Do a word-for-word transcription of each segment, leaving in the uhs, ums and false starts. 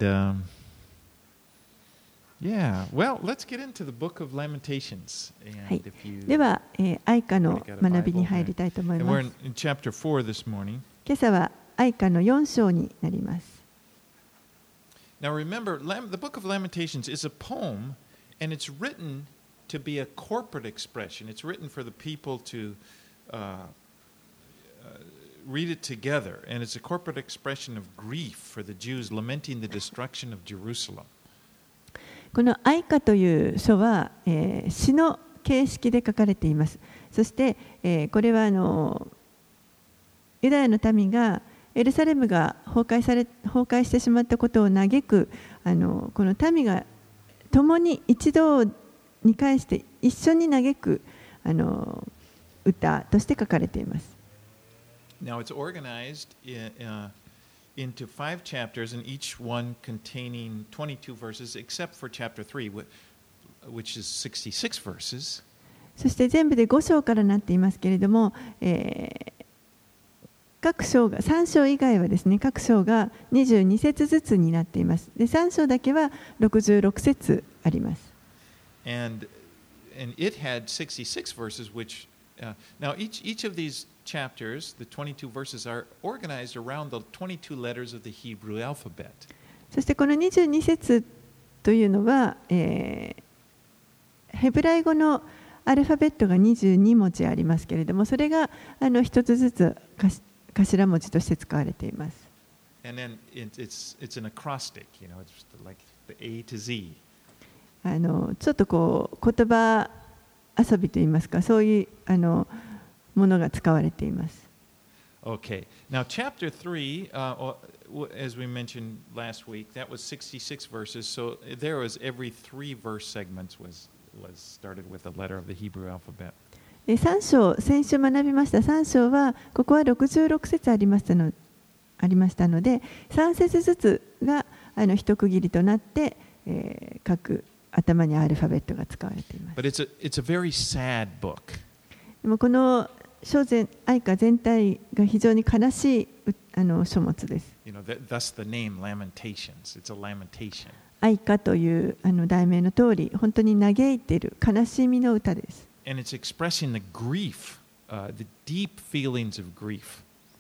um, yeah, well, let's get into the book of Lamentations. はい And if you では、えー、愛歌の学びに入りたいと思い and ま we're す。 in, in chapter four this morning. 今朝は愛歌のよん章になります。 Now remember, Lam- the book of Lamentations is a poem, and it's written to be a corporate expression. It's written for the people to uh, uh, read it together, and it's a corporate expression of grief for the Jews lamenting the destruction of Jerusalem. この愛歌という書は、えー、詩の形式で書かれています。そして、えー、これはあのユダヤの民がエルサレムが崩壊され崩壊してしまったことを嘆くあのこの民が共に一堂に会して一緒に嘆くあの歌として書かれています。 Now it's organized in, uh, into five chapters, and each one containing twenty-two verses, except for chapter three, which is sixty-six verses. そして全部でご章からなっていますけれども、えー、各章がさん章以外はですね、各章がにじゅうに節ずつになっています。で、さん章だけはろくじゅうろく節あります。 And and it had sixty-six verses, which uh, now each each of these chapters, the twenty-two verses, are organized around the twenty-two letters of the Hebrew alphabet. そしてこのにじゅうに節というのは、えー、ヘブライ語のアルファベットがにじゅうに文字ありますけれども、それがあの一つずつ頭文字として使われています。 And then it, it's it's an acrostic, you know, it's like the A to Z. あのちょっとこう言葉遊びといいますか、そういうあのものが使われています。 Okay. Now, chapter three, uh, as we mentioned last week, that was sixty-six verses. So there was every three verse segments was was started with a letter of the Hebrew alphabet. さん章、先週学びましたさん章は、ここはろくじゅうろく節ありましたの、ありましたので、さん節ずつがあの一区切りとなって、えー、各頭にアルファベットが使われています。 But it's a it's a very sad book. でもこの書全愛歌全体が非常に悲しいあの書物です。 You know, that, thus the name Lamentations. It's a lamentation. 愛歌というあの題名の通り、本当に嘆いている悲しみの歌です。 And it's expressing the grief, uh, the deep feelings of grief.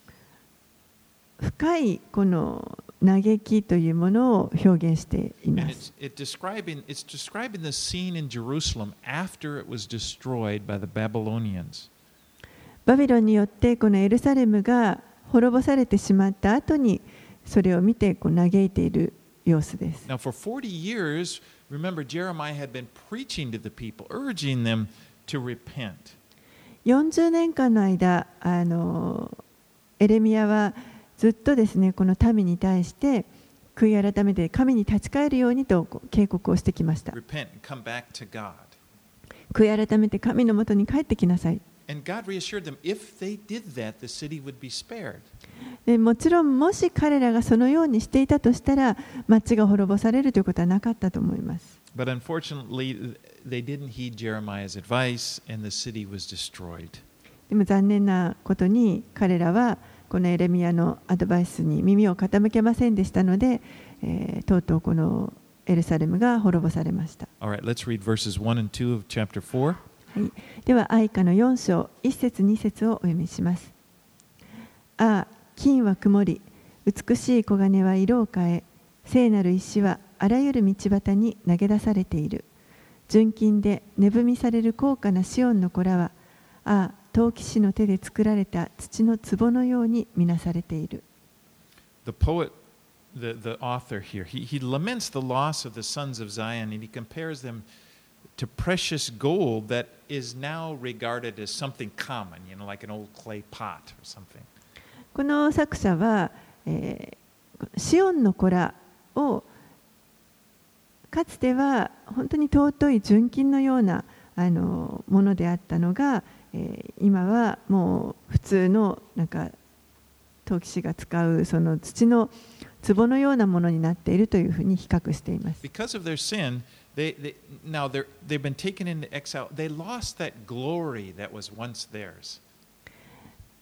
深いこの嘆きというものを表現していま And す。 it's, it describing, it's describing the scene in Jerusalem after it was destroyed by the Babylonians. バビロンによってこのエルサレムが滅ぼされてしまった後にそれを見てこう嘆いている様子です。 Now, for forty years, remember, Jeremiah had been preaching to the people, urging them to repent. よんじゅうねんかんの間、あのエレミヤはずっとですね、この民に対して悔い改めて神に立ち返るようにと警告をしてきました。 Repent and come back to God. 悔い改めて神のもとに帰ってきなさい。 And God reassured them, if they did that, the city would be spared. でもちろん、もし彼らがそのようにしていたとしたら、町が滅ぼされるということはなかったと思います。 But unfortunately, they didn't heed Jeremiah's advice, and the city was destroyed. でも残念なことに、彼らはこのエレミヤのアドバイスに耳を傾けませんでしたので、えー、とうとうこのエルサレムが滅ぼされました。 All right, let's read verses one and two of chapter four. はい、では愛歌のよん章いち節に節をお読みします。ああ、金は曇り、美しい黄金は色を変え、聖なる石はあらゆる道端に投げ出されている。純金で値踏みされる高価なシオンの子らは、ああ、陶器師の手で作られた土の壺のように見なされている。 The poet, the, the author here, he, he laments the loss of the sons of Zion, and he compares them to precious gold that is now regarded as something common, you know, like an old clay pot or something. この作者は、えー、シオンの子らをかつては本当に尊い純金のようなあのものであったのが、えー、今はもう普通のなんか陶器師が使うその土の壺のようなものになっているというふうに比較しています。 Because of their sin, they, they, now they're, they've been taken into exile. They lost that glory that was once theirs.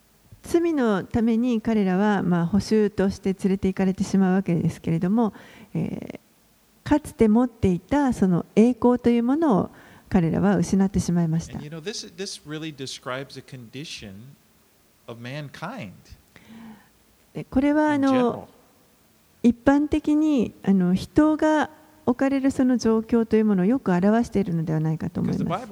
罪のために彼らはまあ捕囚として連れて行かれてしまうわけですけれども、 えー、かつて持っていたその栄光というものを彼らは失ってしまいました。 And you know, this, this really describes the condition of mankind. これはあの一般的にあの人が置かれるその状況というものをよく表しているのではないかと思います。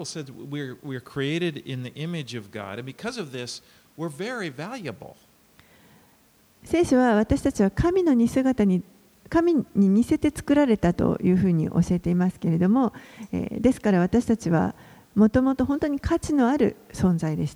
聖書は私たちは神の似姿に神に似せて作られたというふうに教えていますけれども、えー、ですから私たちはもともと本当に価値のある存在でした。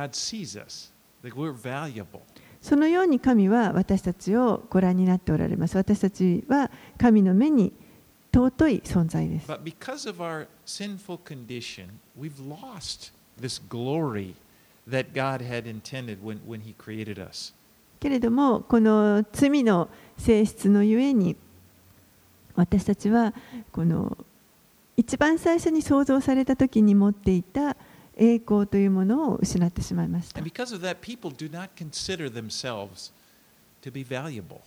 そのように神は私たちをご覧になっておられます。私たちは神の目に尊い存在です。 But because of our sinful condition, we've lost this glory that God had intended when, when He created us. けれども、この罪の性質のゆえに、私たちはこの一番最初に創造された時に持っていた栄光というものを失ってしまいました。 And because of that, people do not consider themselves to be valuable.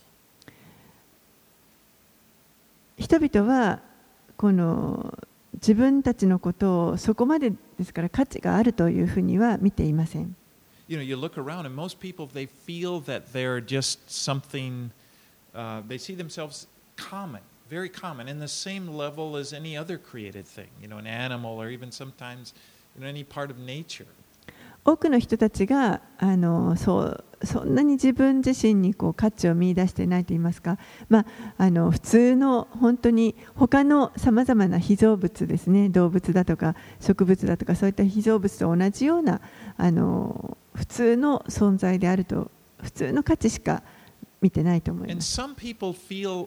人々はこの自分たちのことをそこまでですから価値があるというふうには見ていません。 You know, you look around and most people they feel that they're just something, uh, they see themselves common, very common, in the same level as any other created thing, you know, an animal or even sometimes in any part of nature. 多くの人たちがあのそうそんなに自分自身にこう価値を見出していないと言いますか、まあ、あの普通の本当に他のさまざまな被造物ですね、動物だとか植物だとかそういった被造物と同じようなあの普通の存在であると、普通の価値しか見てないと思います。 And some people feel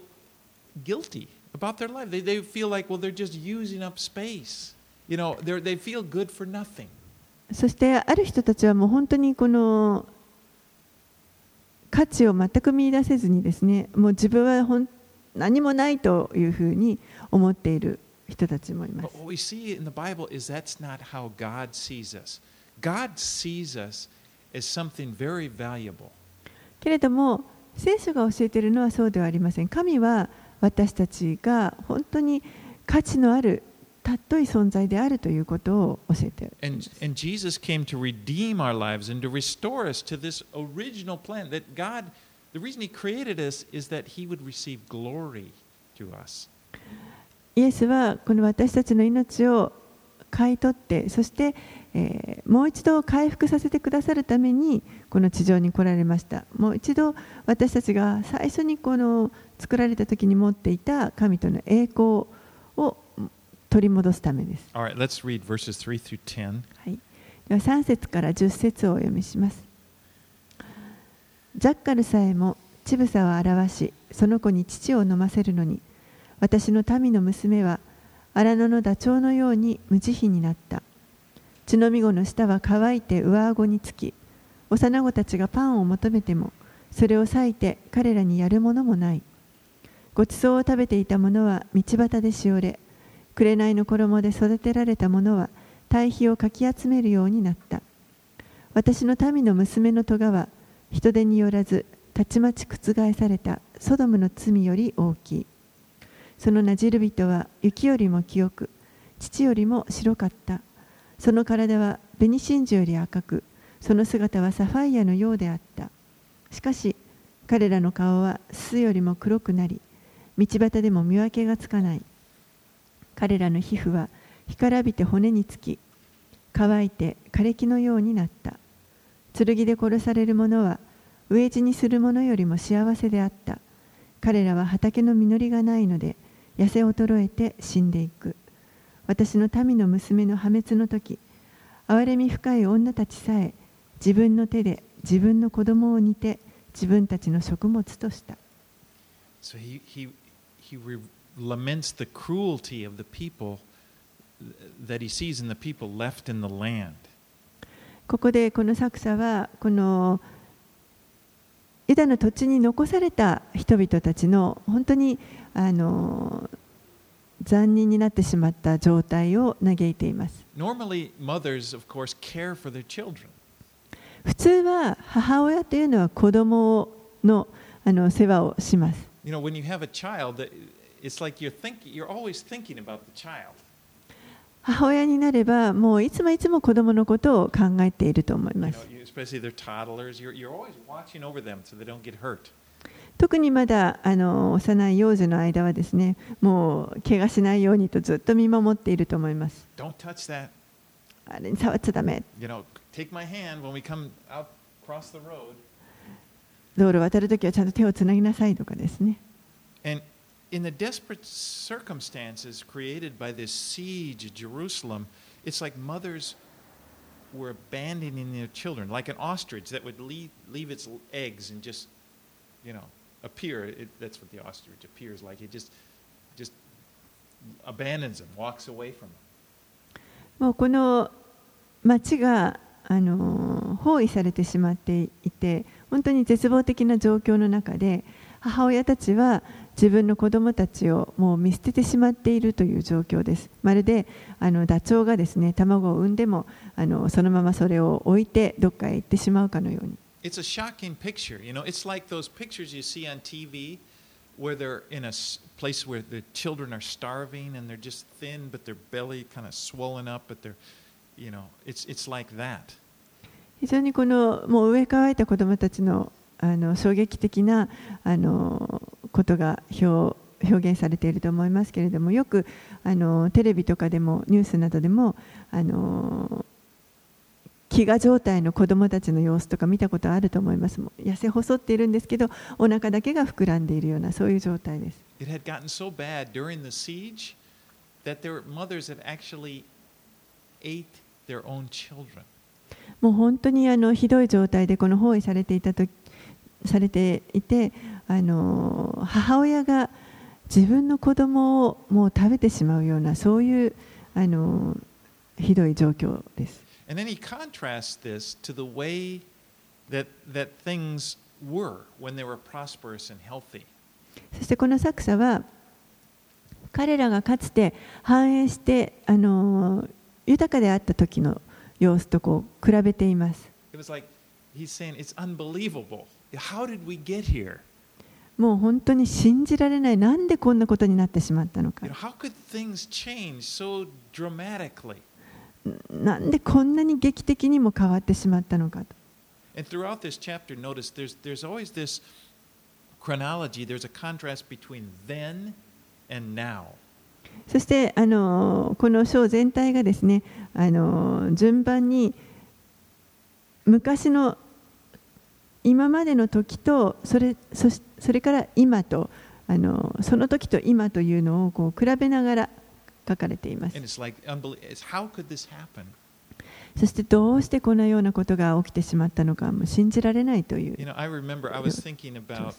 guilty about their life. They, they feel like, well, they're just using up space. You know, they they feel good for nothing. そしてある人たちはもう本当にこの価値を全く見出せずにですね、もう自分はほん何もないというふうに思っている人たちもいます。 But what we see in the Bible is that's not how God sees us. God sees us as something very valuable. けれども聖書が教えているのはそうではありません。神は私たちが本当に価値のある尊い存在であるということを教えている。 And, and Jesus came to redeem our lives and to restore us to this original plan that God, the reason He created us is that He would receive glory to us. イエスはこの私たちの命を買い取って、そして、えー、もう一度回復させてくださるためにこの地上に来られました。もう一度私たちが最初にこの作られた時に持っていた神との栄光を取り戻すためです。 Alright, let's read verses three through ten. はい。ではさん節からじゅっ節をお読みします。ジャッカルさえも乳房を表し、その子に乳を飲ませるのに、私の民の娘は荒野のダチョウのように無慈悲になった。乳飲み子の舌は乾いて上顎につき、幼子たちがパンを求めても、それを裂いて彼らにやるものもない。ごちそうを食べていた者は道端でしおれ、紅の衣で育てられた者は堆肥をかき集めるようになった。私の民の娘の咎は人手によらずたちまち覆されたソドムの罪より大きい。そのなじる人は雪よりも清く、乳よりも白かった。その体は紅真珠より赤く、その姿はサファイアのようであった。しかし彼らの顔はすよりも黒くなり、道端でも見分けがつかない。彼らの皮膚は干からびて骨につき、乾いて枯れ木のようになった。剣で殺される者は飢え死にする者よりも幸せであった。彼らは畑の実りがないので痩せ衰えて死んでいく。私の民の娘の破滅の時、憐れみ深い女たちさえ自分の手で自分の子供を煮て自分たちの食物とした。 So he, he, he laments the cruelty of the people that he sees in the people left in the land. ここでこの作者はこのユダの土地に残された人々たちの本当にあの残忍になってしまった状態を嘆いています。 Normally, mothers, of course, care for their children. 普通は母親というのは子供のあの世話をします。 You know, when you have a child, it's like you're thinking, you're always thinking about the child. 母親になればもういつもいつも子供のことを考えていると思います。 You know, especially their toddlers, you're, you're always watching over them so they don't get hurt. 特にまだあの幼い幼児の間はですね、もう怪我しないようにとずっと見守っていると思います。 Don't touch that. あれに触っちゃダメ。 You know, take my hand when we come out across the road. 道路を渡るときはちゃんと手をつなぎなさいとかですね。 And in the desperate circumstances created by this siege of Jerusalem, it's like mothers were abandoning their children, like an ostrich that would leave, leave its eggs and just, you know, appear. It, that's what the ostrich appears like. It just, just abandons them, walks away from them. もうこの町があの包囲されてしまっていて、本当に絶望的な状況の中で、母親たちは自分の子供たちをもう見捨ててしまっているという状況です。まるであのダチョウがですね、卵を産んでもあのそのままそれを置いてどっかへ行ってしまうかのように。 It's a shocking picture. You know, it's like those pictures you see on T V where they're in a place where the children are starving and they're just thin, but their belly kind of swollen up, but they're, you know, it's it's like that. 非常にこのもう上乾いた子供たちのあの衝撃的なあのことが表表現されていると思いますけれども、よくあのテレビとかでもニュースなどでもあの飢餓状態の子どもたちの様子とか見たことあると思います。もう痩せ細っているんですけど、お腹だけが膨らんでいるようなそういう状態です。 It had gotten so bad during the siege that their mothers had actually ate their own children. もう本当にあのひどい状態でこの包囲されていたとされていて、あの母親が自分の子供をもう食べてしまうようなそういうあのひどい状況です。 And then he contrasts this to the way that that things were when they were prosperous and healthy. そしてこの作者は彼らがかつて繁栄してあの豊かであった時の様子とこう比べています。 It was like he's saying it's unbelievable. How did we get here? もう本当に信じられない。なんでこんなことになってしまったのか。 How could things change so dramatically? なんでこんなに劇的にも変わってしまったのかと。 And throughout this chapter, notice there's there's always this chronology. There's a contrast between then and now. そしてあのこの章全体がですね、あの順番に昔の今までの時とそれ、そし、それから今とあのその時と今というのをこう比べながら書かれています。 Like, how could this happen? そしてどうしてこのようなことが起きてしまったのかも信じられないという。 You know, I remember I was thinking about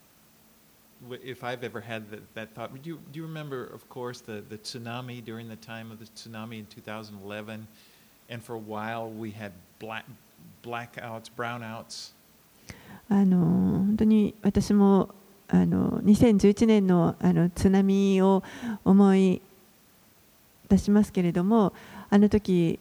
if I've ever had that, that thought. Do you, do you remember, of course, the, the tsunami during the time of the tsunami in two thousand eleven? And for a while we had black, blackouts, brownouts. あの本当に私もあのにせんじゅういちねんのあの津波を思い出しますけれども、あの時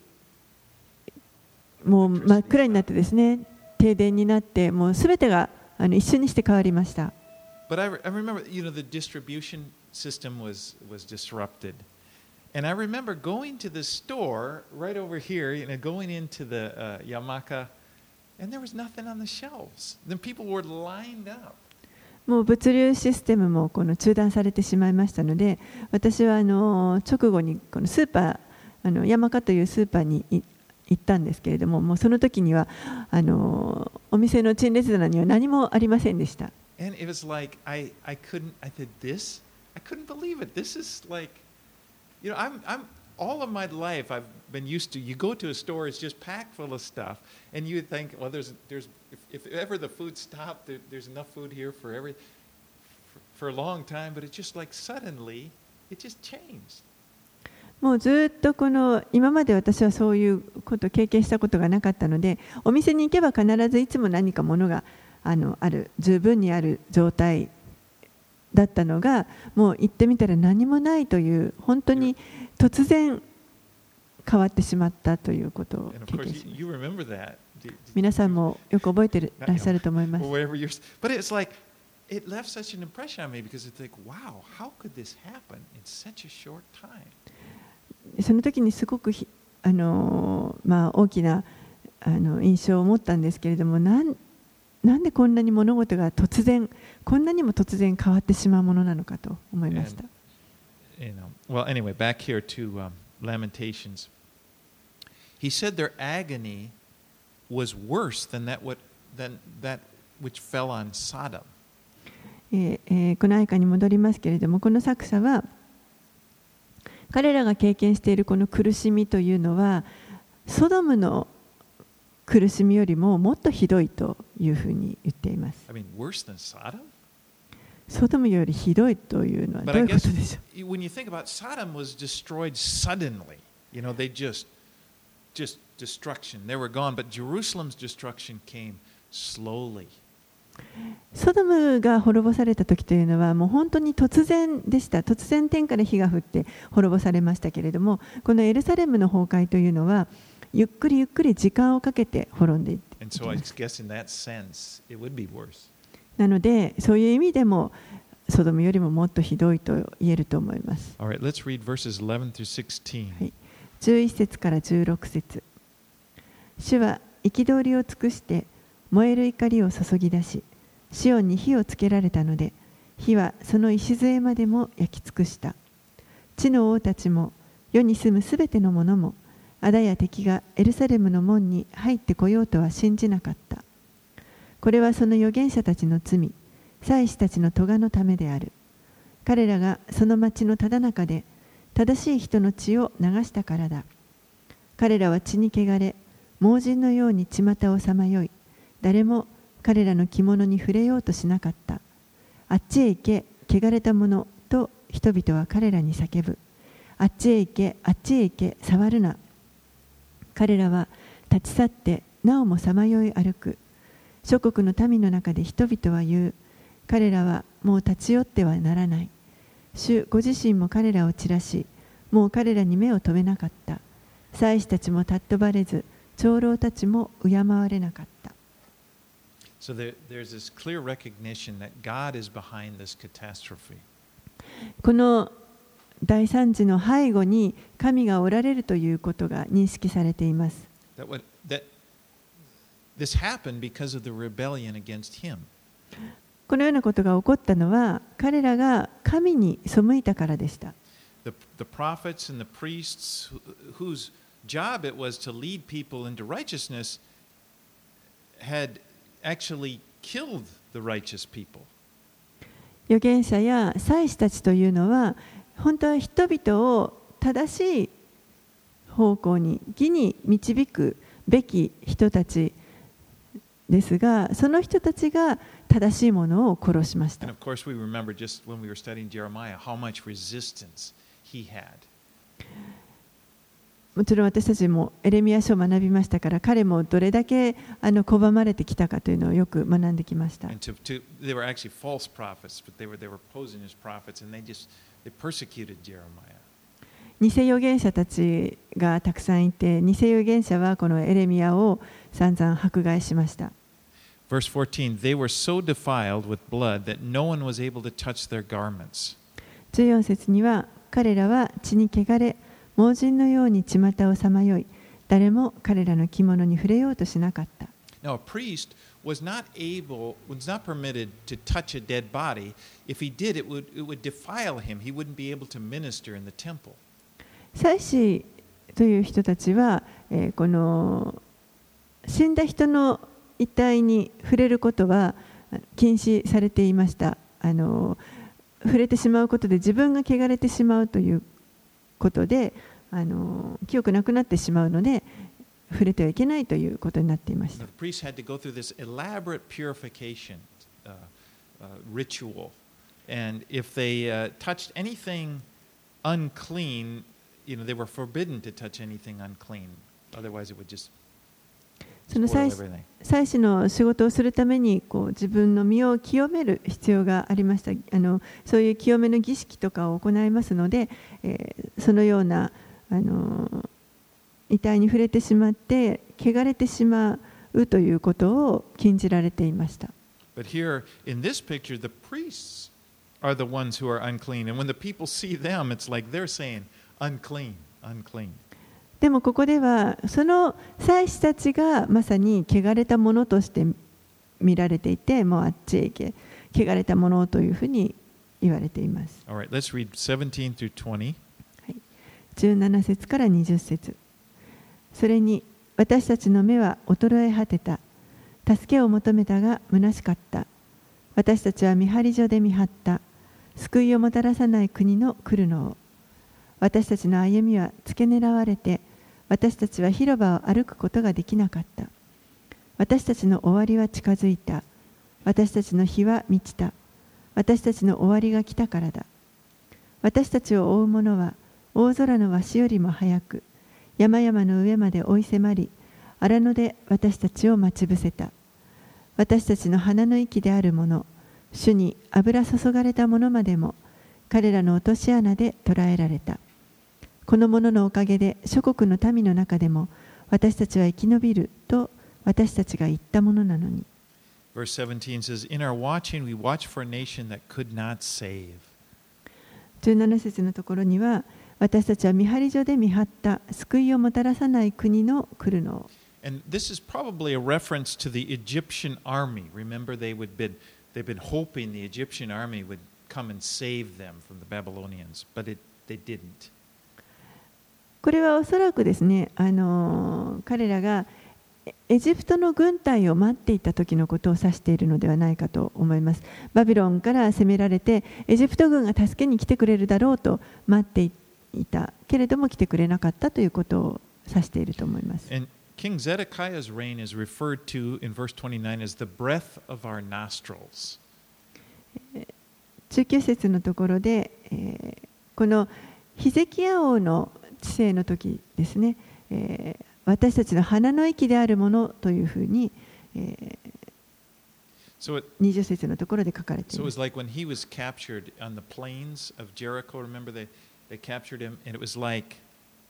もう真っ暗になってですね、停電になってもうすべてがあの一瞬にして変わりました。 But I, I remember, you know, the distribution system was was disrupted, and I remember going to the store right over here, you know, going into the uh, Yamaka, and there was nothing on the shelves. Then people were lined up. もう物流システムもこの中断されてしまいましたので、私はあの直後にこのスーパー、あのヤマカというスーパーに行ったんですけれども、もうその時にはあのお店の陳列棚には何もありませんでした。 And it was like I I couldn't I said this I couldn't believe it. This is like, you know, I'm I'm all of my life I've been used to. You go to a store, it's just packed full of stuff, and you think, well, there's there's if, if ever the food stopped, there, there's enough food here for every for, for a long time. But it's just like suddenly it just changed. もうずっとこの今まで私はそういうことを経験したことがなかったので、お店に行けば必ずいつも何かものがあのある、十分にある状態だったのが、もう行ってみたら何もないという、本当に突然変わってしまったということを経験します。皆さんもよく覚えていらっしゃると思います。 it left such an impression on me because it's like, wow, how could this happen in such a short time? その時にすごくひあの、まあ、大きなあの印象を持ったんですけれども、なんなんでこんなに物事が突然、こんなにも突然変わってしまうものなのかと思いました。 And, you know, well, anyway, back here to um, Lamentations. He said their agony was worse than that, what, than that which fell on Sodom. えーえー、この愛歌に戻りますけれども、この作者は彼らが経験しているこの苦しみというのはソドムの苦しみよりももっとひどいというふうに言っています。 I mean, worse than Sodom? ソドムよりひどいというのはどういうことでしょう。 When you think about Sodom was destroyed suddenly, you know, they just, just destruction. They were gone, but Jerusalem's destruction came slowly. ソドムが滅ぼされた時というのはもう本当に突然でした。突然天から火が降って滅ぼされましたけれども、このエルサレムの崩壊というのはゆっくりゆっくり時間をかけて滅んでいっていきます。なのでそういう意味でもソドムよりももっとひどいと言えると思います。 All right, let's read verses eleven through sixteen. はい、じゅういち節からじゅうろく節。主は憤りを尽くして燃える怒りを注ぎ出し、シオンに火をつけられたので、火はその礎までも焼き尽くした。地の王たちも世に住むすべての者も、あだや敵がエルサレムの門に入ってこようとは信じなかった。これはその預言者たちの罪、祭司たちの咎のためである。彼らがその町のただ中で正しい人の血を流したからだ。彼らは血に汚れ、盲人のように巷をさまよい、誰も彼らの着物に触れようとしなかった。あっちへ行け、汚れた者と人々は彼らに叫ぶ。あっちへ行け、あっちへ行け、触るな。彼らは立ち去ってなおもさまよい歩く。諸国の民の中で人々は言う。彼らはもう立ち寄ってはならない。主ご自身も彼らを散らし、もう彼らに目を留めなかった。祭司たちも尊ばれず、長老たちも敬われなかった。 So there, there's this clear recognition that God is behind this catastrophe. この大惨事の背後に神がおられるということが認識されています。 That what, that this happened because of the rebellion against him. このようなことが起こったのは彼らが神に背いたからでした。 The, the prophets and the priests whose job it was to lead people into righteousness had actually killed the righteous people. 預言者や祭司たちというのは本当は人々を正しい方向に義に導くべき人たちですが、その人たちが正しいものを殺しました。 And of course we remember just when we were studying Jeremiah how much resistance he had. もちろん私たちもエレミヤ書を学びましたから、彼もどれだけあの拒まれてきたかというのをよく学んできました。 And to, to, they were actually false prophets, but they were, they were posing as prophets, and they just they persecuted Jeremiah. 偽預言者たちがたくさんいて、偽預言者はこのエレミヤを散々迫害しました。 Verse fourteen, they were so defiled with blood that no one was able to touch their garments. じゅうよん節には、彼らは血に汚れ、盲人のように巷をさまよい、誰も彼らの着物に触れようとしなかった。 Now, a priest was not able, was not permitted to touch a dead body. If he did, it would, it would defile him. He wouldn't be able to minister in the temple. 祭司という人たちは、えー、この死んだ人の遺体に触れることは禁止されていました。あの触れてしまうことで自分が汚れてしまうということで、あの記憶なくなってしまうので触れてはいけないということになっていました。 The priests had to go through this elaborate purification uh, uh, ritual, and if they uh, touched anything unclean, you know, they were forbidden to touch anything unclean. Otherwise, it would just その祭祭司の仕事をするためにこう自分の身を清める必要がありました。あのそういう清めの儀式とかを行いますので、えー、そのようなあの遺体に触れてしまって汚れてしまうということを禁じられていました。 But here in this picture, the priests are the ones who are unclean. And when the people see them, it's like they're saying, unclean, unclean. でもここではその祭司たちがまさに汚れたものとして見られていて、もうあっちへ行け、汚れたものというふうに言われています。 All right, let's read seventeen through twenty. はい、じゅうなな節からにじゅっ節。それに私たちの目は衰え果てた。助けを求めたが虚しかった。私たちは見張り所で見張った。救いをもたらさない国の来るのを。私たちの歩みは付け狙われて、私たちは広場を歩くことができなかった。私たちの終わりは近づいた。私たちの日は満ちた。私たちの終わりが来たからだ。私たちを追う者は大空の鷲よりも早く、山々の上まで追い迫り、荒野で私たちを待ち伏せた。私たちの鼻の息である者、主に油注がれた者までも、彼らの落とし穴で捕らえられた。この者のおかげで諸国の民の中でも、私たちは生き延びると私たちが言ったものなのに。 Verse seventeen says, In our watching, we watch for a nation that could not save. じゅうなな節のところには、私たちは見張り所で見張った救いをもたらさない国の来るのを。 And this is probably a reference to the Egyptian army. Remember, they would been, they've been hoping the Egyptian army would come and save them from the Babylonians, but it, they didn't. これはおそらくですね、あの彼らがエジプトの軍隊を待っていた時のことを指しているのではないかと思います。バビロンから攻められて、エジプト軍が助けに来てくれるだろうと待っていたけれども来てくれなかったということを指していると思います。 And King Zedekiah's reign is referred to in verse twenty-nine as the breath of our nostrils. じゅうきゅう節のところで、えー、このヒゼキヤ王の治世の時ですね、えー、私たちの鼻の息であるものというふうに、えー、 so it, にじゅう節のところで書かれています。 So it was like when he was captured on the plains of Jericho, remember they, they captured him, and it was like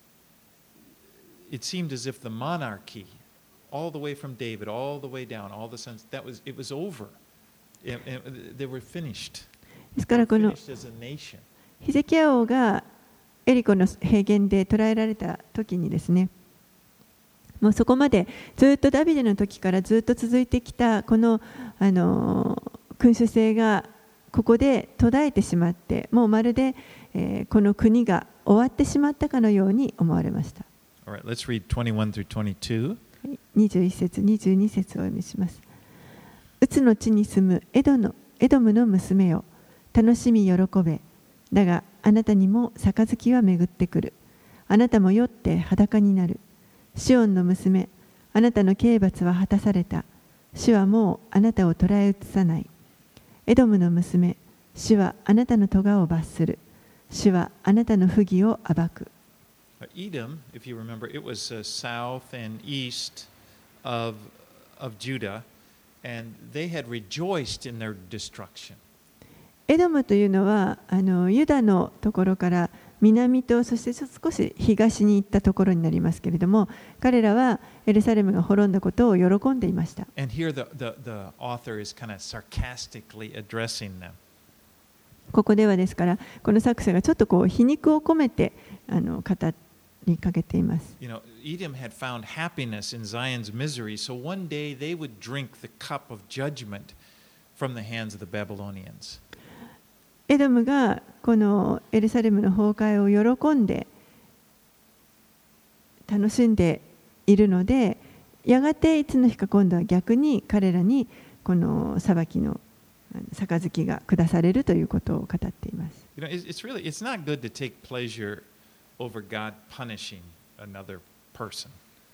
it seemed as if the monarchy, all the way from David, all the way down, all the sons, that was, it was over. It, it, they were finished. ですからこのヒゼキヤ王がエリコの平原で捕らえられた時にですね、もうそこまでずっとダビデの時からずっと続いてきたこの、あの君主制がここで途絶えてしまって、もうまるで、えー、この国が終わってしまったかのように思われました。 All right, let's read twenty-one through twenty-two. にじゅういち節、にじゅうに節をお読みします。うつの地に住むエドのエドムの娘よ、楽しみ喜べ。だがあなたにも杯は巡ってくる。あなたも酔って裸になる。シオンの娘、あなたの刑罰は果たされた。主はもうあなたを捕らえ移さない。エドムの娘、主はあなたの咎を罰する。主はあなたの不義を暴く。 Edom, if you remember, it was uh, south and east of, of Judah, and they had rejoiced in their destruction. エドムというのはあのユダのところから南とそして少し東に行ったところになりますけれども、彼らはエルサレムが滅んだことを喜んでいました。 And here the, the, the author is kind of sarcastically addressing them. ここではですから、この作者がちょっとこう皮肉を込めてあの語りかけています。 You know, Edom had found happiness in Zion's misery, so one day they would drink the cup of judgment from the hands of the Babylonians. エドムがこのエルサレムの崩壊を喜んで楽しんでいるので、やがていつの日か今度は逆に彼らにこの裁きの杯が下されるということを語っています。 You know, it's really it's not good to take pleasure over God punishing another person.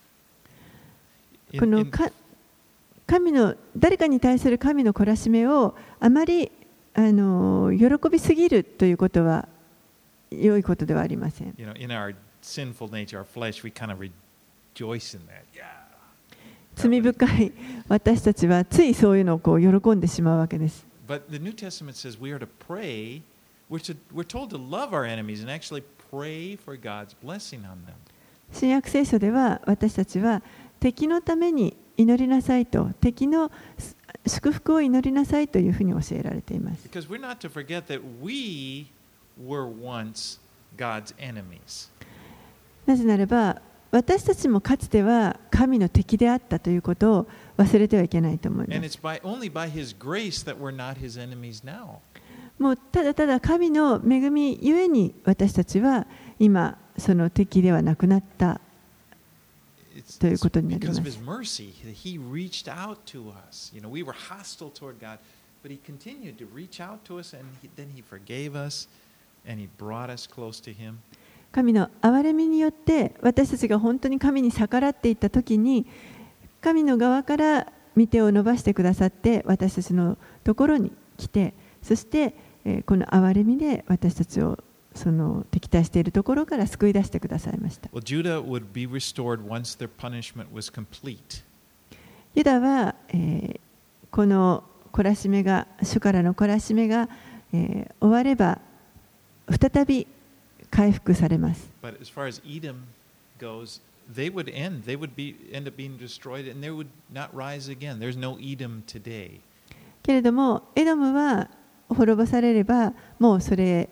このか神の誰かに対する神の懲らしめをあまりあの喜びすぎるということは良いことではありません。 You know, in our sinful nature, our flesh, we kind of rejoice in that. Yeah. 罪深い私たちはついそういうのをこう喜んでしまうわけです。 But the New Testament says we are to pray. We're, to, we're told to love our enemies and actually pray for God's blessing on them. 新約聖書では私たちは敵のために祈りなさいと、敵の祝福を祈りなさいというふうに教えられています。 Because we're not to forget that we were once God's enemies. なぜならば、私たちもかつては神の敵であったということを忘れてはいけないと思いま And す。 it's by, only by His grace that we're not His enemies now. もうただただ神の恵みゆえに私たちは今その敵ではなくなったということになります。 Because of His mercy, He reached out to us. You know, we were hostile toward God, but He continued to reach out to us, and he, then He forgave us, and He brought us close to Him. 神の憐れみによって私たちが本当に神に逆らっていったときに、神の側から御手を伸ばしてくださって私たちのところに来て、そしてこの憐れみで私たちをその敵対しているところから救い出してくださいました。 Well, Judah would be restored once their punishment was complete. ユダは、えー、この懲らしめが主からの懲らしめが、えー、終われば再び回復されます。 But as far as Edom goes, they would end. They would be end up being destroyed, and they would not rise again. There's no Edom today. けれどもエドムは滅ぼされればもうそれ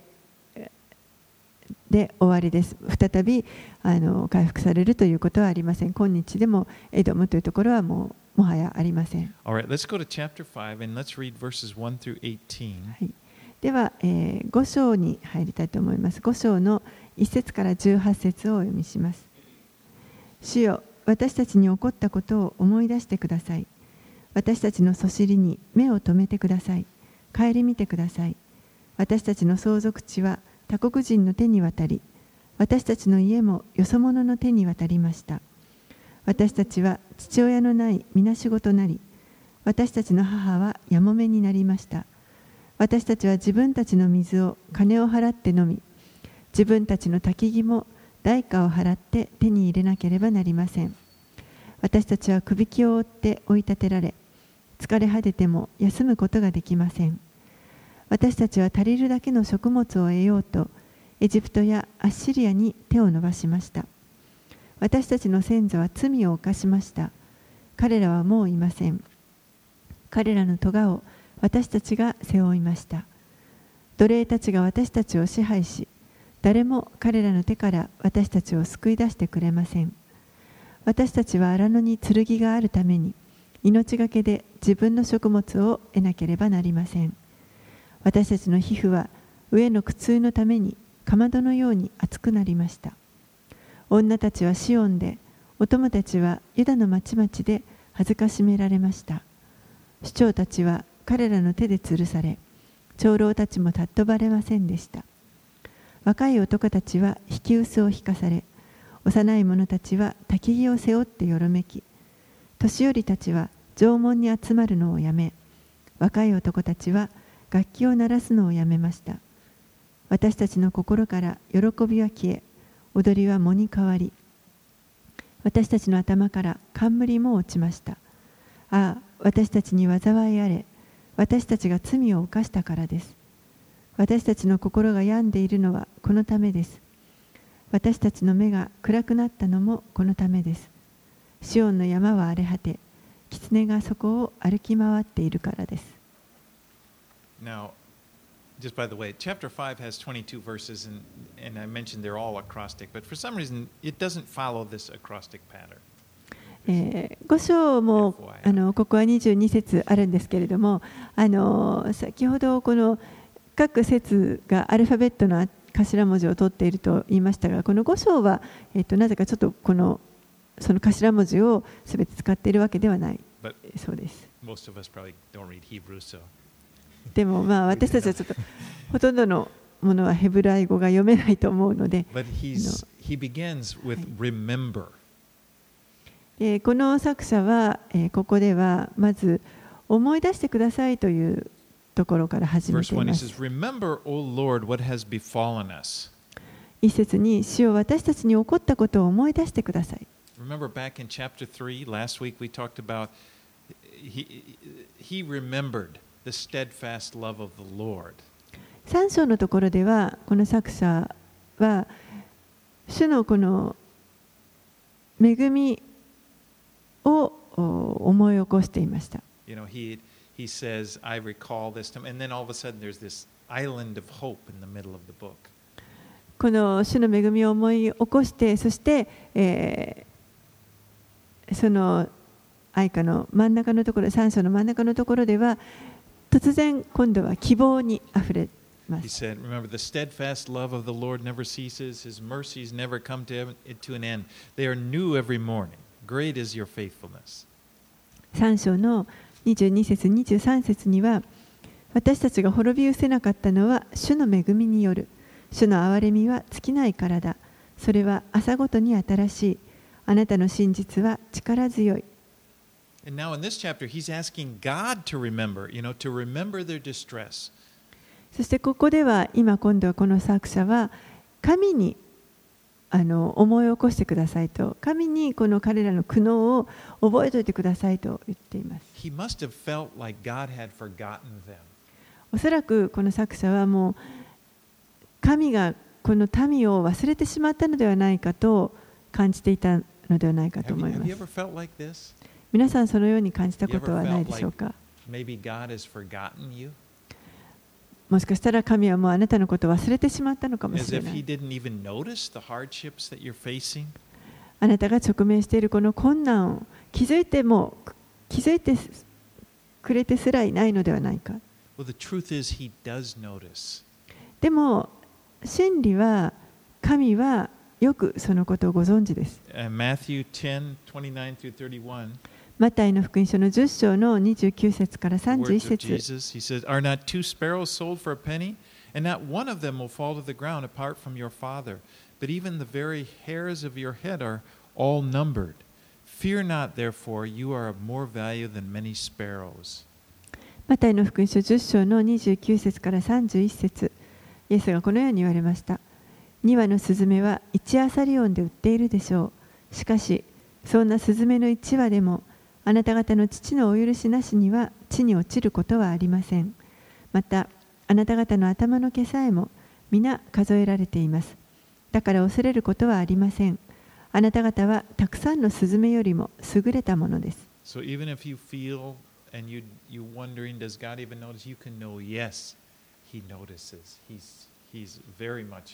で終わりです。再びあの回復されるということはありません。今日でもエドムというところはもうもはやありません。 All right, let's go to chapter five and let's read verses one through eighteen. はい、では、えー、ご章に入りたいと思います。ご章のいち節からじゅうはち節をお読みします。主よ、私たちに起こったことを思い出してください。私たちのそしりに目を留めてください。顧みてください。私たちの相続地は他国人の手に渡り、私たちの家もよそ者の手に渡りました。私たちは父親のないみなしごとなり、私たちの母はやもめになりました。私たちは自分たちの水を金を払って飲み、自分たちの焚き木も代価を払って手に入れなければなりません。私たちはくびきを追って追い立てられ、疲れ果てても休むことができません。私たちは足りるだけの食物を得ようと、エジプトやアッシリアに手を伸ばしました。私たちの先祖は罪を犯しました。彼らはもういません。彼らの咎を私たちが背負いました。奴隷たちが私たちを支配し、誰も彼らの手から私たちを救い出してくれません。私たちは荒野に剣があるために、命がけで自分の食物を得なければなりません。私たちの皮膚は飢えの苦痛のためにかまどのように熱くなりました。女たちはシオンで、お供たちはユダの町々で恥ずかしめられました。首長たちは彼らの手で吊るされ、長老たちも尊ばれませんでした。若い男たちは引き薄を引かされ、幼い者たちは焚き木を背負ってよろめき、年寄りたちは縄文に集まるのをやめ、若い男たちは楽器を鳴らすのをやめました。私たちの心から喜びは消え、踊りは藻に変わり、私たちの頭から冠も落ちました。ああ、私たちに災いあれ、私たちが罪を犯したからです。私たちの心が病んでいるのはこのためです。私たちの目が暗くなったのもこのためです。シオンの山は荒れ果て、狐がそこを歩き回っているからです。 Now, just by the way, chapter five has twenty-two verses, and, and I mentioned they're all acrostic, but for some reason it doesn't follow this acrostic pattern. えー、ご章もあのここはにじゅうに節あるんですけれども、あの先ほどこの各節がアルファベットの頭文字を取っていると言いましたが、このご章は、えー、となぜかちょっとこのその頭文字をすべて使っているわけではないそうです。 Most of us probably don't read Hebrew, so. でもまあ私たちはちょっとほとんどのものはヘブライ語が読めないと思うので、 But he's, he begins with remember. えー、この作者は、えー、ここではまず思い出してくださいというところから始めています。 Remember, O Lord, what has befallen us. 一節に、主よ私たちに起こったことを思い出してください。 Remember back in chapter three, last week we talked about he, he remembered the steadfast love of the Lord. さん章のところでは、この作者は主のこの恵みを思い起こしていました。 You know, he, he says, I recall this time, and then all of a sudden there's this island of hope in the middle of the book. この主の恵みを思い起こして、そして、えー、その愛歌の真ん中のところ、三章の真ん中のところでは、突然今度は希望にあふれます。 He said, remember, the steadfast love of the Lord never ceases, his mercies never come to, to an end. They are new every morning. Great is your faithfulness. 三章のにじゅうに節、にじゅうさん節には、私たちが滅び失せなかったのは主の恵みによる。主の憐れみは尽きないからだ。それは朝ごとに新しい。あなたの真実は力強い。 And now in this chapter, he's asking God to remember, you know, to remember their distress. そしてここでは、今今度はこの作者は、神にあの思い起こしてくださいと、神にこの彼らの苦悩を覚えておいてくださいと言っています。 He must have felt like God had forgotten them. おそらくこの作者はもう、神がこの民を忘れてしまったのではないかと感じていたのではないかと思います。 Have you ever felt like this? 皆さんそのように感じたことはないでしょうか。 Maybe God has forgotten you? もしかしたら神はもうあなたのことを忘れてしまったのかもし As れ if な he い。 didn't even notice the hardships that you're facing? あなたが直面しているこの困難を気づいても気づいてくれてすらいないのではないか。 Well, the truth is he does notice. でも真理は神はよくそのことをご存知です。 Uh, Matthew ten, twenty-nine through thirty-one. マタイの福音書のじゅっ章のにじゅうきゅう節から The 31 words of 節。 Jesus. He says, Are not two sparrows sold for a penny? And not one of them will fall to the ground apart from your Father. But even the very hairs of your head are all numbered. Fear not, therefore, you are of more value than many sparrows. マタイの福音書じゅっ章のにじゅうきゅう節からさんじゅういち節。イエスがこのように言われました。に羽のスズメはいちアサリオンで売っているでしょう。しかし、そんなスズメのいち羽でも、あなた方の父のお許しなしには地に落ちることはありません。また、あなた方の頭の毛さえも皆数えられています。だから恐れることはありません。あなた方はたくさんのスズメよりも優れたものです。 So even if you feel and you, you're wondering, does God even notice? You can know, yes, He notices. He's, he's very much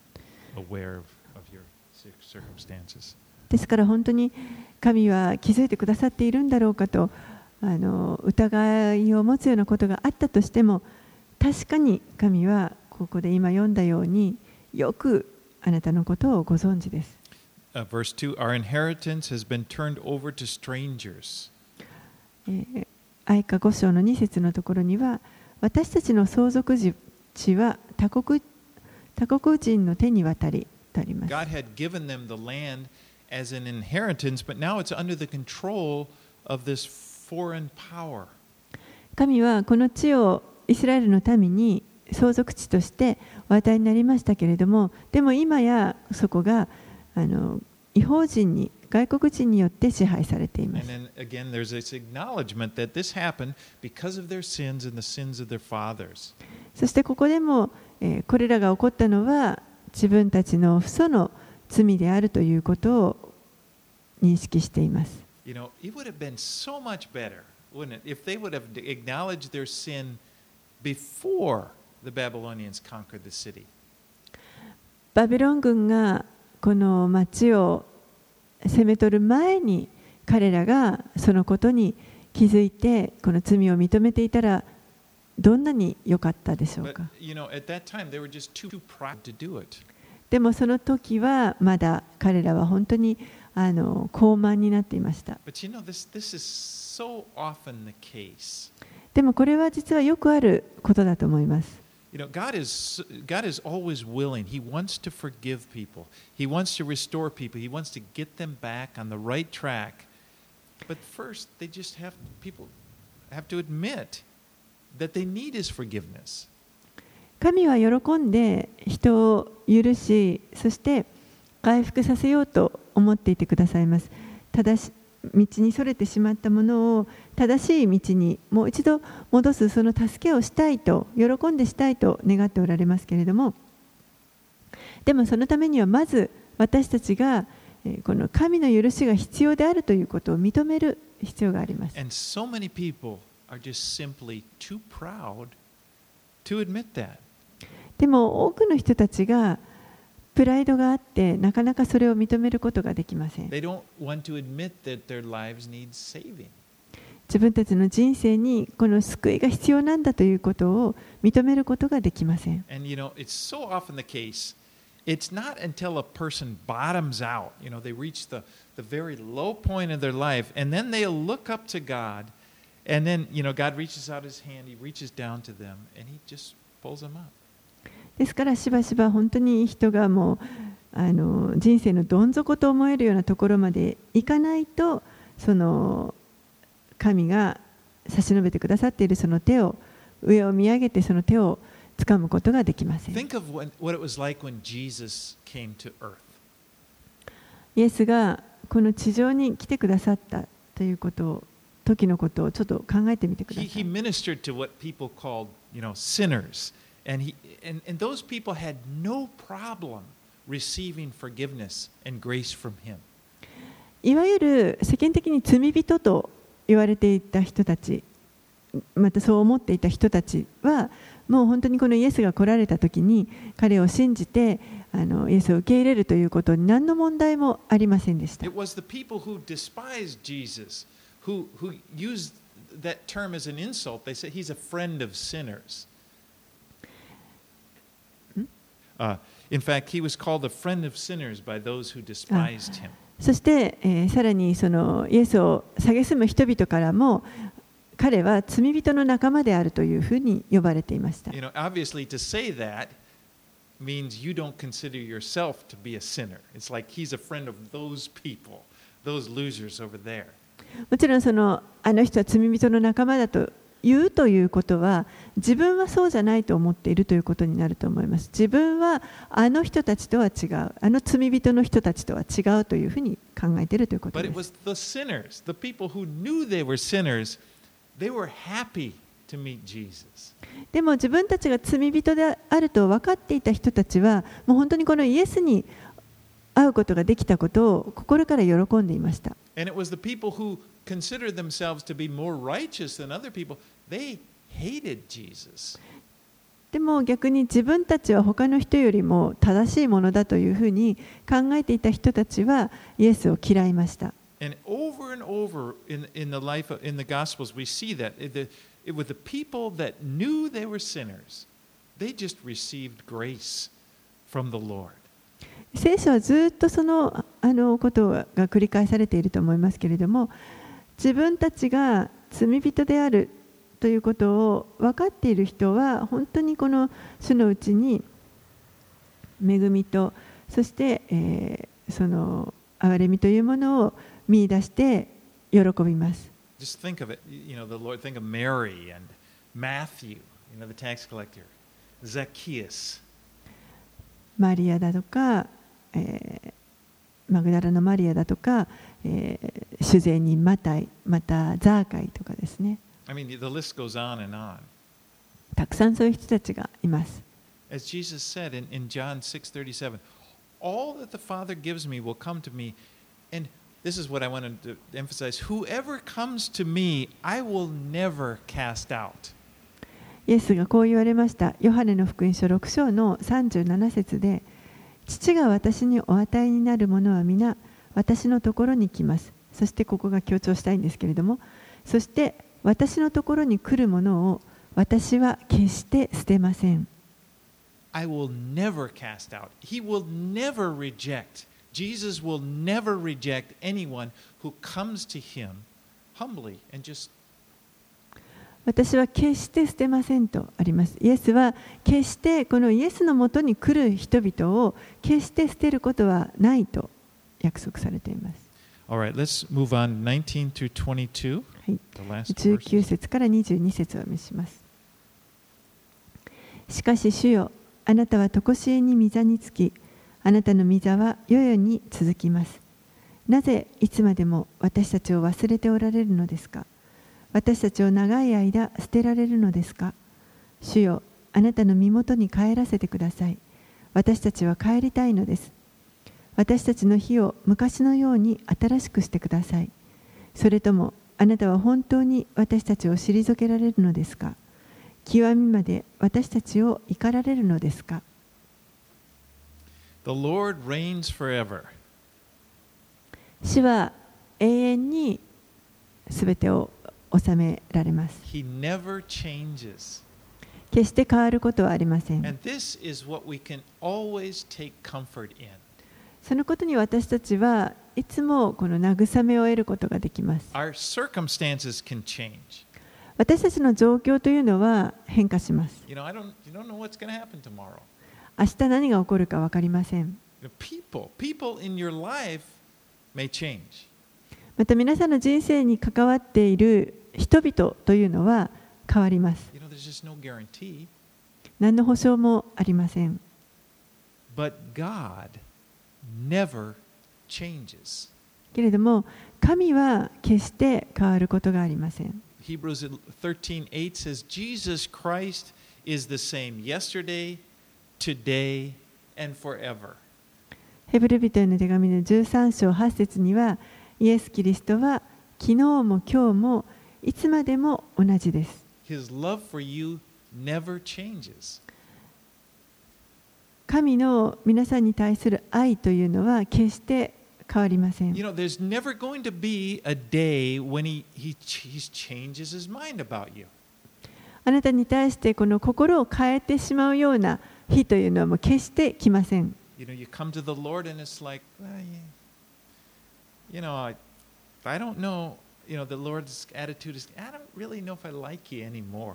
aware of, of your circumstances. ですから本当に神は気づいてくださっているんだろうかとあの疑いを持つようなことがあったとしても、確かに神はここで今読んだようによくあなたのことをご存知です。 Uh, verse two, Our inheritance has been turned over to strangers. えー、愛歌ご章のに節のところには、私たちの相続地は他国、他国人の手に渡りとあります。 God had given them the land as an inheritance, but now it's under the control of this foreign power. 神はこの地をイスラエルの民に相続地としてお与えになりましたけれども、でも今やそこがあの異邦人に、外国人によって支配されています。 And then again, there's this acknowledgement that this happened because of their sins and the sins of their fathers. そしてここでも、えー、これらが起こったのは自分たちの父祖の罪であるということを認識しています。 You know, it would have been so much better, wouldn't it, if they would have acknowledged their sin before the Babylonians conquered the city. バビロン軍がこの町を攻め取る前に彼らがそのことに気づいてこの罪を認めていたらどんなに良かったでしょう But か。 you know, at that time they were just too proud to do it. でもその時はまだ彼らは本当にあの高慢になっていました。 But you know, this this is so often the case. でもこれは実はよくあることだと思います。 You know, God is God is always willing. He wants to forgive people. He wants to restore people. He wants to get them back on the right track. But first, they just have people have to admit that they need His forgiveness. 神は喜んで人を許し、そして回復させようと思っていてくださいます。ただし道にそれてしまったものを正しい道にもう一度戻す、その助けをしたいと、喜んでしたいと願っておられますけれども、でもそのためにはまず私たちがこの神の許しが必要であるということを認める必要があります。 And so many people are just simply too proud to admit that. でも多くの人たちがプライドがあってなかなかそれを認めることができません。 They don't want to admit that their lives need saving. 自分たちの人生にこの救いが必要なんだということを認めることができません。 And you know, it's so often the case, it's not until a person bottoms out, you know, they reach the, the very low point of their life, and then they'll look up to God, and then, you know, God reaches out his hand, he reaches down to them, and he just pulls them up. ですからしばしば本当に人がもうあの人生のどん底と思えるようなところまでいかないと、その神が差し伸べてくださっているその手を上を見上げてその手を掴むことができません。 Think of when, what it was like when Jesus came to earth. イエスがこの地上に来てくださったということを時のことをちょっと考えてみてくだ He, さい。 he ministered to what people called, you know, sinners, and he and, and those people had no problem receiving forgiveness and grace from him. いわゆる世間的に罪人と言われていた人たち、またそう思っていた人たちはもう本当にこのイエスが来られた時に彼を信じてあのイエスを受け入れるということに何の問題もありませんでした。 It was the people who despised Jesus, who, who used that term as an insult. They said he's a friend of sinners. Uh, in fact, he was called a friend of sinners by those who despised him. そして、えー、さらにそのイエスを蔑む人々からも彼は罪人の仲間であるというふうに呼ばれていました。 You know, obviously, to say that means you don't consider yourself to be a sinner. It's like he's a friend of those people, those losers over there. もちろんそのあの人は罪人の仲間だと言うということは自分はそうじゃないと思っているということになると思います。自分はあの人たちとは違う、あの罪人の人たちとは違うというふうに考えているということ But で it す。 was the sinners, the people who knew they were sinners, they were happy to meet Jesus. でも自分たちが罪人であると分かっていた人たちはもう本当にこのイエスに会うことができたことを心から喜んでいました。 And it was the people who considered themselves to be more righteous than other people. They hated Jesus. でも逆に自分たちは他の人よりも正しいものだというふうに考えていた人たちはイエスを嫌いました。 And over and over in, in the life of, in the Gospels, we see that it, the, it was the people that knew they were sinners. They just received grace from the Lord. 聖書はずっとそのあのことが繰り返されていると思いますけれども、自分たちが罪人であるということを分かっている人は本当にこの主のうちに恵みとそして、えー、その憐れみというものを見出して喜びます。 Just think of it, you know, the Lord, think of Mary and Matthew, you know, the tax collector, Zacchaeus. マリアだとか、えー、マグダラのマリアだとか、えー、主税人マタイ、またザーカイとかですね。 I mean, the list goes on and on. たくさんそういう人たちがいます。 As Jesus said in, in John six thirty-seven, all that the Father gives me will come to me. And this is what I wanted to emphasize. Whoever comes to me, I will never cast out. イエスがこう言われました。ヨハネの福音書ろく章のさんじゅうなな節で、父が私にお与えになるものは皆私のところに来ます。そしてここが強調したいんですけれども、そして私のところに来るものを私は決して捨てません。 I will never cast out. He will never reject. Jesus will never reject anyone who comes to him humbly and just 私は決して捨てませんとあります。イエスは決してこのイエスのもとに来る人々を決して捨てることはないと約束されています。 All right, let's move on nineteen through twenty-two. はい、 The last じゅうきゅう verses. 節からにじゅうに節を見します。しかし主よ、あなたは常しえに御座につき、あなたの御座は世々に続きます。なぜいつまでも私たちを忘れておられるのですか。私たちを長い間捨てられるのですか。主よ、あなたの身元に帰らせてください。私たちは帰りたいのです。 私たちの日を昔のように新しくしてください。それともあなたは本当に私たちを退けられるのですか？極みまで私たちを怒られるのですか？ The Lord reigns forever. 主は永遠にすべてを治められます。 He never changes. 決して変わることはありません。 And this is what we can always take comfort in. そのことに私たちはいつもこの慰めを得ることができます。 Our circumstances can change. 私たちの状況というのは変化します。 You know, I don't, you don't know what's going to happen tomorrow. 明日何が起こるか分かりません。 The people, people in your life may change. また皆さんの人生に関わっている人々というのは変わります。 You know, there's just no guarantee. 何の保証もありません。 But God never changes. けれども神は決して変わることがありません。 Hebrews thirteen eight says, Jesus Christ is the same yesterday, today, and forever. ヘブル人への手紙のじゅうさん章はち節には、イエス・キリストは昨日も今日もいつまでも同じです。 His love for you never changes. 神の皆さんに対する愛というのは決して変わりません。 You know, there's never going to be a day when he, he, he changes his mind about you. あなたに対してこの心を変えてしまうような日というのはもう決して来ません。 You know, you come to the Lord and it's like, well, you know, I, I don't know, you know, the Lord's attitude is, I don't really know if I like you anymore.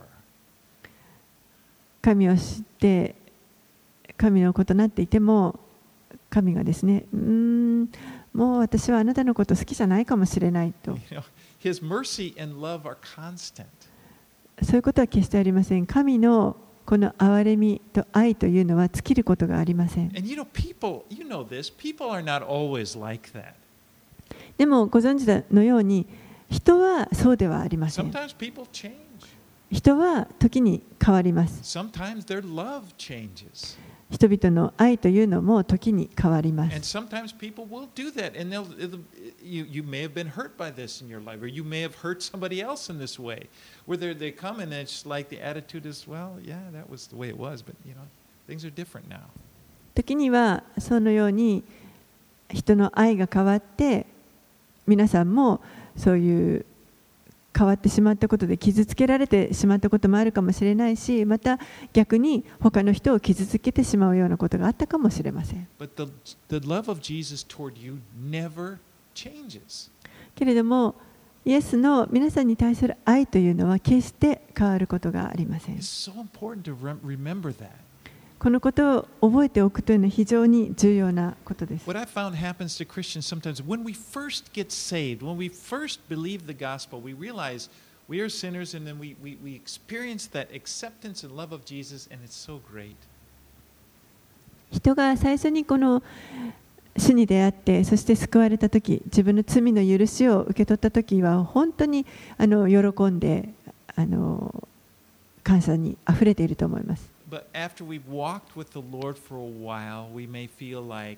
神を知って神のことになっていても神がですね、うーん、もう私はあなたのこと好きじゃないかもしれないと。 You know, His mercy and love are constant. そういうことは決してありません。神のこの憐れみと愛というのは尽きることがありません。 And you know, people, you know this, people are not always like that. でもご存知のように人はそうではありません。 Sometimes people change. 人は時に変わります。 Sometimes their love changes. 人々の愛というのも時に変わりま And す。 sometimes people will do that. And they'll, it'll, you, you may have been hurt by this in your life, or you may have hurt somebody else in this way. Whether they come and it's like the attitude is, well, yeah, that was the way it was, but you know, things are different now. 時にはそのように人の愛が変わって皆さんもそういう変わってしまったことで傷つけられてしまったこともあるかもしれないし、また逆に他の人を傷つけてしまうようなことがあったかもしれません。 But the, the love of Jesus toward you never changes. けれどもイエスの皆さんに対する愛というのは決して変わることがありません。 It's so important to rem- remember that. このことを覚えておくというのは非常に重要なことです。 What I found happens to Christians sometimes when we first get saved, when we first believe the gospel, we realize we are sinners and then we, we, we experience that acceptance and love of Jesus, and it's so great. 人が最初にこの主に出会ってそして救われたとき、自分の罪の許しを受け取ったときは本当にあの喜んであの感謝にあふれていると思います。 But after we've walked with the Lord for a while, we may feel like,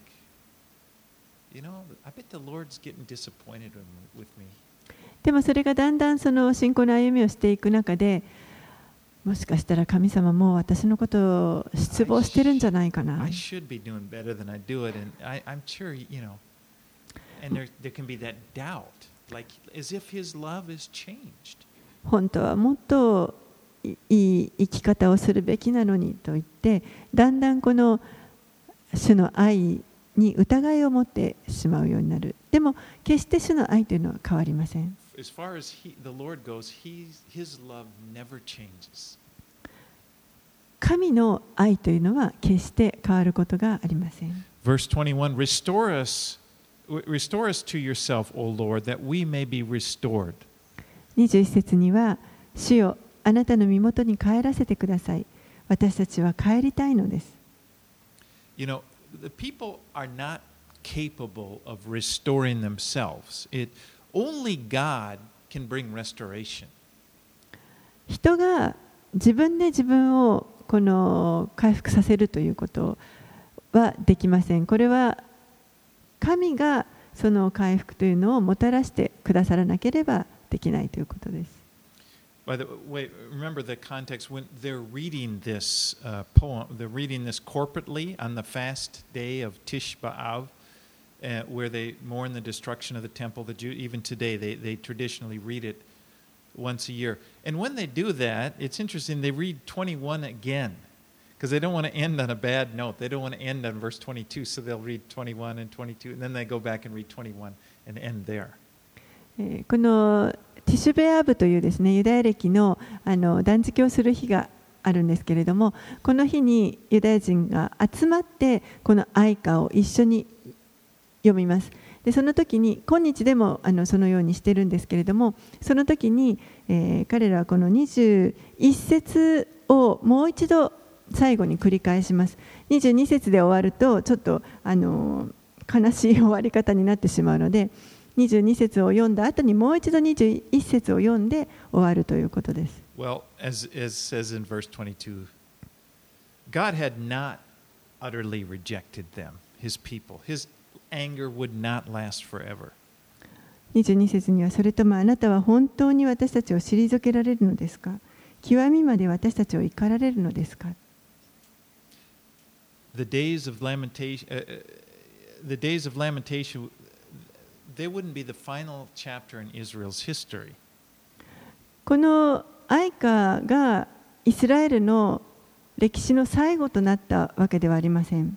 you know, I bet the Lord's getting disappointed with me. でもそれがだんだんその信仰の歩みをしていく中で、もしかしたら神様も私のことを失望してるんじゃないかな。 I should be doing better than I do it, and I, I'm sure, you know, and there, there can be that doubt, like as if His love has changed. 本当はもっといい生き方をするべきなのにと言って、だんだんこの主の愛に疑いを持ってしまうようになる。でも決して主の愛というのは変わりません。 As far as he, the Lord goes, he's, His love never changes. 神の愛というのは決して変わることがありません。 Verse twenty-one, restore us, restore us to yourself, O Lord, that we may be restored. にじゅういち節には、主よあなたの身元に帰らせてください。私たちは帰りたいのです。 You know, the people are not capable of restoring themselves. It, only God can bring restoration. 人が自分で自分をこの回復させるということはできません。これは神がその回復というのをもたらしてくださらなければできないということです。 By the way, remember the context when they're reading this uh, poem, they're reading this corporately on the fast day of Tish B'Av, uh, where they mourn the destruction of the temple. The Jew, even today, they, they traditionally read it once a year. And when they do that, it's interesting, they read twenty-one again, because they don't want to end on a bad note. They don't want to end on verse twenty-two, so they'll read twenty-one and twenty-two, and then they go back and read twenty-one and end there. このティシュベアブというですね、ユダヤ歴のあの断食をする日があるんですけれども、この日にユダヤ人が集まってこの哀歌を一緒に読みます。でその時に今日でもあのそのようにしてるんですけれども、その時に、えー、彼らはこのにじゅういち節をもう一度最後に繰り返します。にじゅうに節で終わるとちょっとあの悲しい終わり方になってしまうので、にじゅうに節を読んだ後にもう一度にじゅういち節を読んで終わるということです。 Well, as, as says in verse twenty-two, God had not utterly rejected them, his people. His anger would not last forever. にじゅうに節には、それともあなたは本当に私たちを退けられるのですか？極みまで私たちを怒られるのですか？ The days of lamentation, uh, the days of lamentation, they wouldn't be the final chapter in Israel's history. この哀歌がイスラエルの歴史の最後となったわけではありません。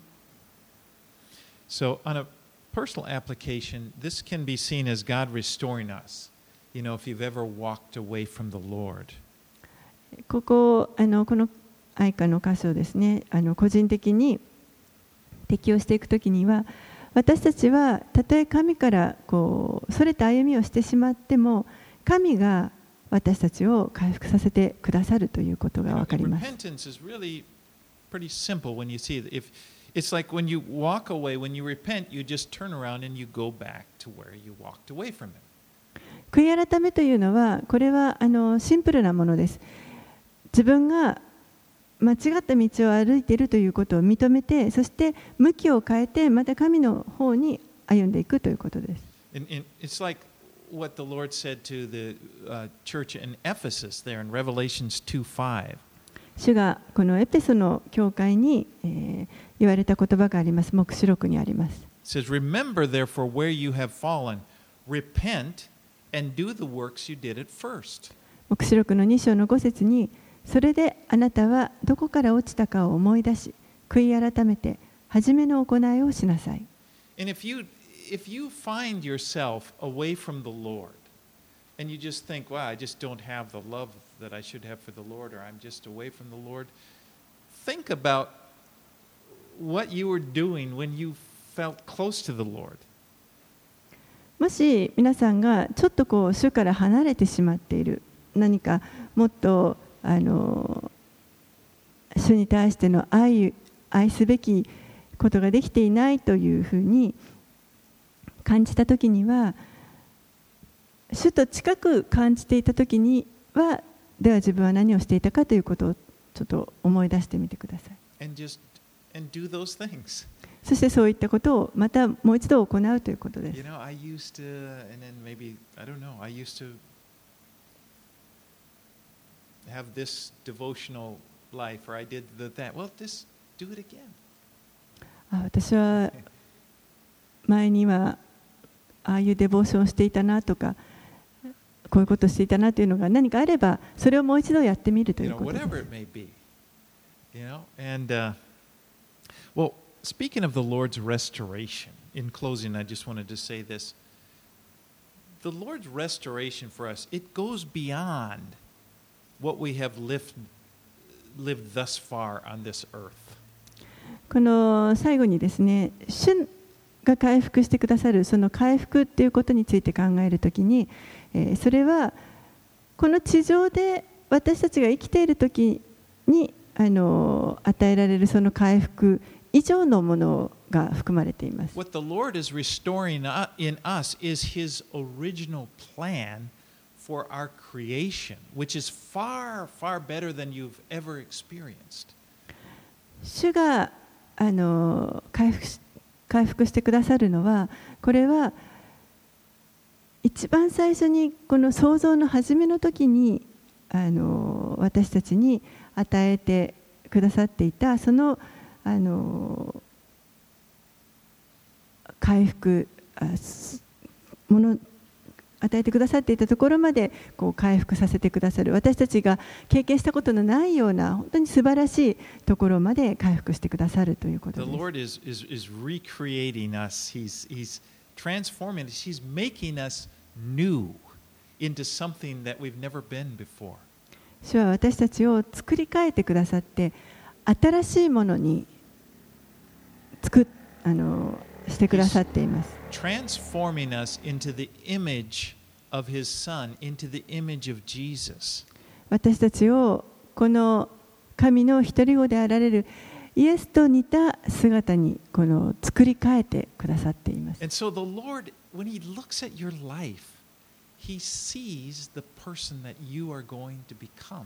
So, on a personal application, this can be seen as God restoring us. You know, if you've ever walked away from the Lord. ここあのこの哀歌の箇所ですね、あの個人的に適用していくときには、私たちはたとえ神からこうそれた歩みをしてしまっても、神が私たちを回復させてくださるということがわかります。 Repentance is really pretty simple when you see it. If it's like when you walk away, when you repent, you just turn around and you go back to where you walked away from it. 悔い改めというのは、これはあのシンプルなものです。自分が間違った道を歩いているということを認めて、そして向きを変えて、また神の方に歩んでいくということです。 And, and it's like what the Lord said to the uh, church in Ephesus there in Revelations two five. 主がこのエペソの教会に、えー、言われた言葉があります。黙示録にあります。 It says, Remember therefore where you have fallen, repent and do the works you did at first. 黙示録のに章のご節に、それであなたはどこから落ちたかを思い出し、悔い改めて初めの行いをしなさい。 And if you, if you find yourself away from the Lord, and you just think, wow, I just don't have the love that I should have for the Lord, or I'm just away from the Lord, think about what you were doing when you felt close to the Lord. もし皆さんがちょっとこう主から離れてしまっている、何かもっとあの主に対しての愛、愛すべきことができていないというふうに感じたときには、主と近く感じていたときには、では自分は何をしていたかということをちょっと思い出してみてください。 And just, and do those things. そしてそういったことをまたもう一度行うということです。 You know, I used to, and then maybe, I don't know, I used to have this devotional life, or I did the, that. Well, just do it again. あ、私は前にはああいうデボーションをしていたなとか、こういうことをしていたなというのが何かあれば、それをもう一度やってみるということです。 You know, whatever it may be. You know, and uh, well, speaking of the Lord's restoration, in closing, I just wanted to say this. The Lord's restoration for us, it goes beyond what we have lived, lived thus far on this earth. この最後にですね、主が回復してくださるその回復ということについて考えるときに、えー、それはこの地上で私たちが生きているときにあの与えられるその回復以上のものが含まれています。 What the Lord is restoring in us is His original plan for our creation, which is far, far better than you've ever experienced. 主があの回復回復してくださるのは、これは一番最初にこの創造の初めの時にあの私たちに与えてくださっていたそのあの回復もの与えてくださっていたところまでこう回復させてくださる、私たちが経験したことのないような本当に素晴らしいところまで回復してくださるということです。 The Lord is, is, is recreating us. He's, he's transforming us. He's making us new into something that we've never been before. 主は私たちを作り変えてくださって新しいものに作っあのしてくださっています。 Transforming us into the image of His Son, into the image of Jesus. 私たちをこの神の一人子であられるイエスと似た姿にこの作り変えてくださっています。 And so the Lord, when He looks at your life, He sees the person that you are going to become.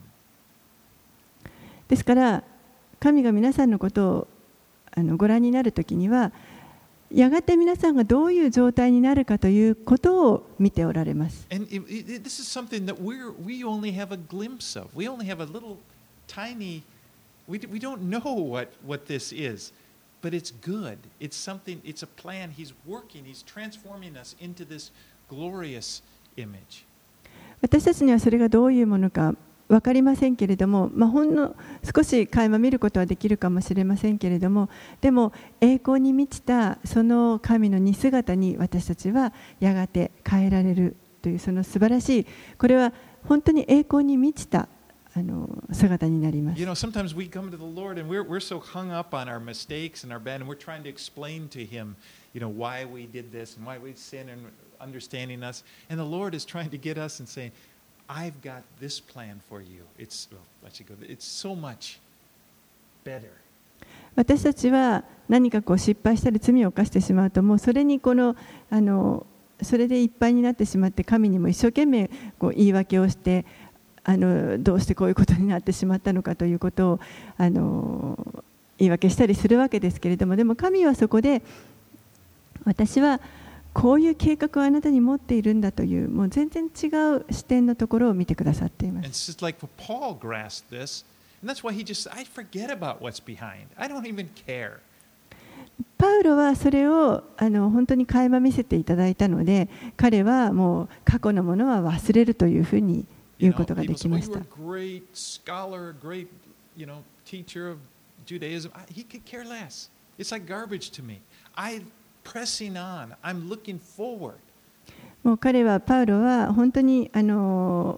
ですから神が皆さんのことをあのご覧になるときには、やがて皆さんがどういう状態になるかということを見ておられます。 And it, it, this is something that we're, we only have a glimpse of. We only have a little tiny, we, we don't know what, what this is, but it's good. It's something, it's a plan. He's working, He's transforming us into this glorious image. 私たちにはそれがどういうものか分かりませんけれども、まあ、ほんの少し垣間見ることはできるかもしれませんけれども、でも栄光に満ちたその神の似姿に私たちはやがて変えられるというその素晴らしい、これは本当に栄光に満ちたあの姿になります。 You know, sometimes we come to the Lord and we're, we're so hung up on our mistakes and our bad, and we're trying to explain to Him, you know, why we did this and why we sinned and understanding us. And the Lord is trying to get us and saying, I've got this plan for you. It's, well, let you go. It's so much better. 私たちは何かこう失敗したり罪を犯してしまうと、もうそれにこのあのそれでいっぱいになってしまって、神にも一生懸命こう言い訳をして、あのどうしてこういうことになってしまったのかということをあの言い訳したりするわけですけれども、でも神はそこで私はこういう計画をあなたに持っているんだという、もう全然違う視点のところを見てくださっています。 And it's just like Paul grasped this, and that's why he just, I forget about what's behind. I don't even care. パウロはそれをあの本当に垣間見せていただいたので、彼はもう過去のものは忘れるというふうに言うことができました。 You know, people say, well, you were a great scholar, great, you know, teacher of Judaism. He could care less. It's like garbage to me. I pressing on. I'm looking forward. もう彼はパウロは本当にあの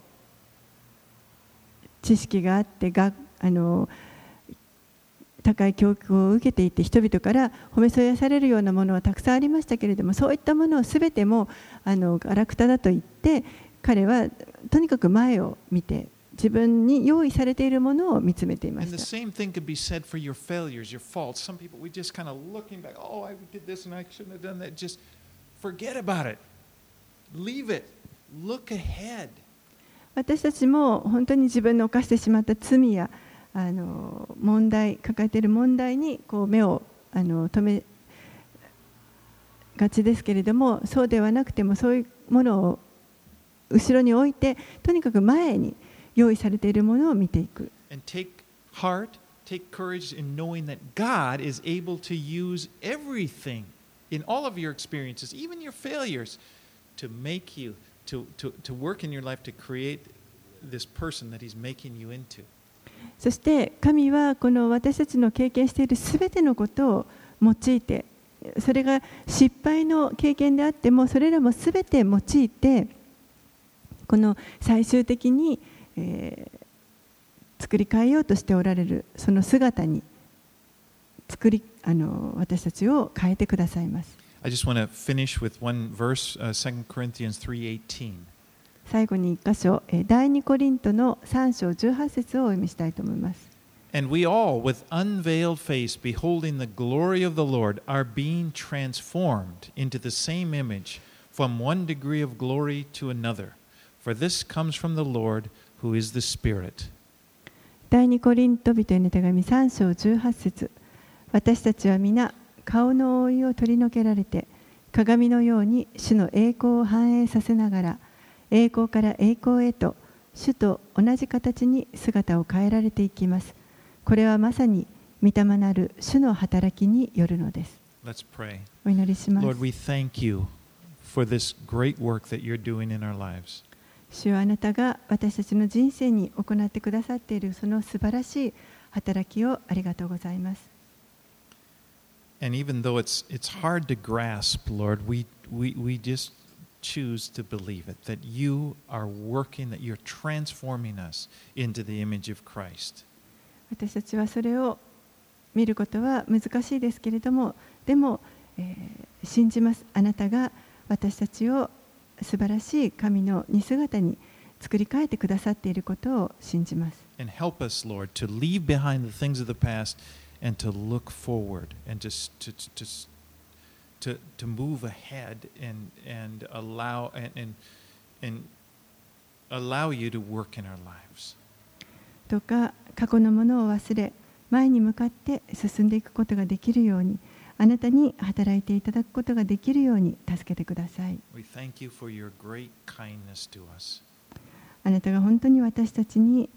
知識があってがあの高い教育を受けていて、人々から褒めそやされるようなものはたくさんありましたけれども、そういったものをすべてもあのガラクタだと言って、彼はとにかく前を見て自分に用意されているものを見つめていました。 And the same thing could be said for your failures, your faults. Some people, we just kind of looking back, oh, I did this and I shouldn't have done that. Just forget about it. Leave it. Look ahead. 私たちも本当に自分の犯してしまった罪やあの問題、抱えている問題にこう目をあの留めがちですけれども、そうではなくてもそういうものを後ろに置いて、とにかく前に用意されているものを見ていく。 And take heart, take courage in knowing that God is able to use everything in all of your experiences, even your failures, to make you, to, to, to work in your life to create this person that He's making you into. そして神はこの私たちの経験しているすべてのことを用いて、それが失敗の経験であってもそれらもすべて用いて、この最終的に、えー、作り変えようとしておられるその姿に作りあの私たちを変えてくださいます。 I just want to finish with one verse, uh, Second Corinthians three eighteen. 最後に一箇所、第二コリントのさん章じゅうはち節をお読みしたいと思います。 And we all, with unveiled face, beholding the glory of the Lord, are being transformed into the same image from one degree of glory to another. For this comes from the Lord, who is the Spirit. 第二コリント人への手紙さん章じゅうはち節。私たちは皆顔の覆いを取り除けられて、鏡のように主の栄光を反映させながら、栄光から栄光へと主と同じ形に姿を変えられていきます。これはまさに御霊なる主の働きによるのです。 Let's pray. お祈りします。 Lord, we thank you for this great work that you're doing in our lives. 主はあなたが私たちの人生に行ってくださっているその素晴らしい働きをありがとうございます。 And even though it's it's hard to grasp, Lord, we we we just choose to believe it, that you are working, that you're transforming us into the image of Christ. 私たちはそれを見ることは難しいですけれども、でも、えー、信じます。あなたが私たちを素晴らしい神の似姿に作り変えてくださっていることを信じます。 And help us, Lord, to leave behind the things of the past and to look forward and just to to to to move ahead and and allow and and and allow you to work in our lives. どうか過去のものを忘れ、前に向かって進んでいくことができるように、あなたに働いていただくことができるように助けてください。 We thank you for your great kindness to us. あなたが本当に私たちに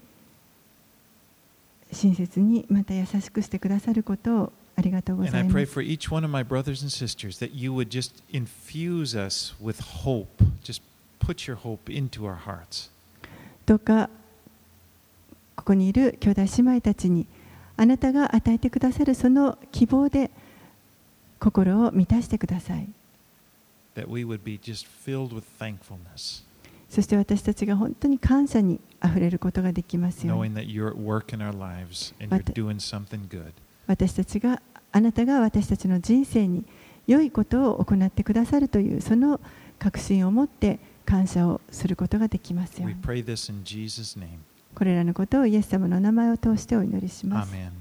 親切にまた優しくしてくださることをありがとうござ And い I ま pray す。 for each one of my brothers and sisters that you would just infuse us with hope. Just put your hope into our hearts. どうかここにいる兄弟姉妹たちにあなたが与えてくださるその希望で心を満たしてください。 That we would be just filled with thankfulness, そして私たちが本当に感謝にあふれることができますように。 knowing that you're at work in our lives and you're doing something good. 私たちがあなたが私たちの人生に良いことを行ってくださるというその確信を持って感謝をすることができますよう We に。 pray this in Jesus' name. これらのことをイエス様の名前を通してお祈りします。 Amen.